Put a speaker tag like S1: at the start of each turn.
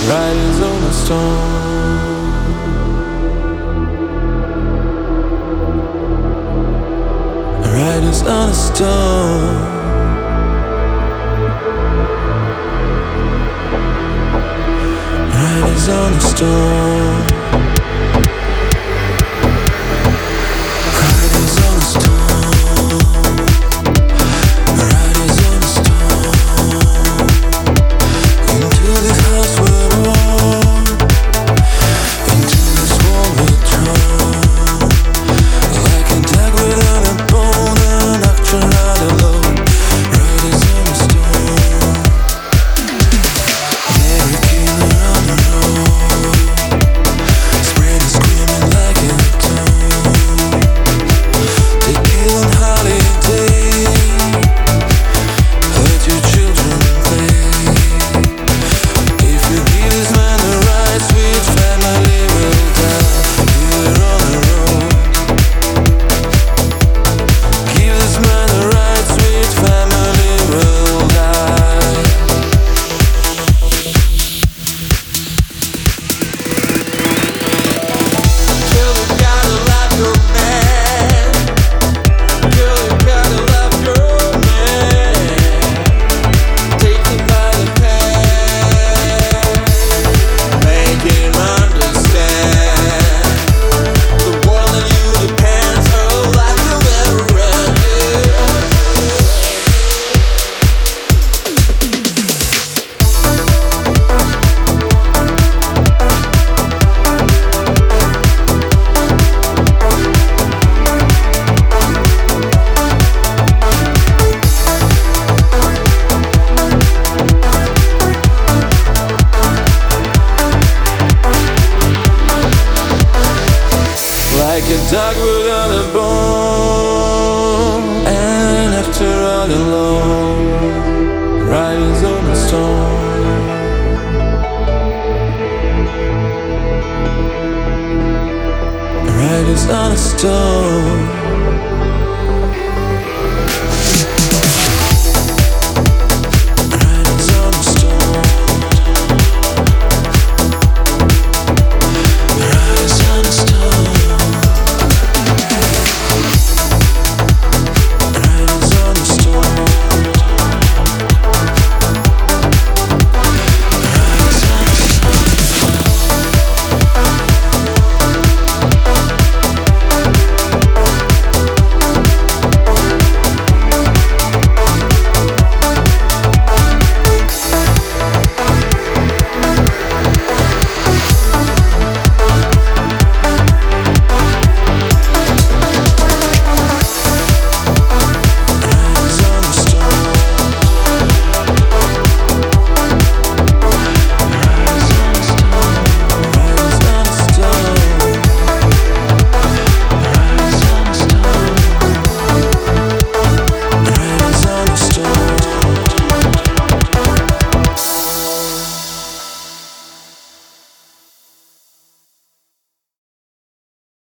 S1: Riders on a storm. Riders on a storm. Riders on a storm. Riders on a storm. Riders on a storm. Into this house we're born. Into this world we're drawn. Like a dog without a bone, an actor out alone. Riders on a storm. Mary killer on the road. Spreading screaming like a tomb. They kill on holiday. Hurt your children play. If you give this man the right, sweet family will die. We're on the road. Give this man the right, sweet family will die. Girl, you gotta love your man. Girl, you gotta love your man. Take him by the hand. Make him understand. The world on you depends. Oh, like you ever ended. Like a dog without a bone, and after all alone, riders on a storm. Riders on a storm.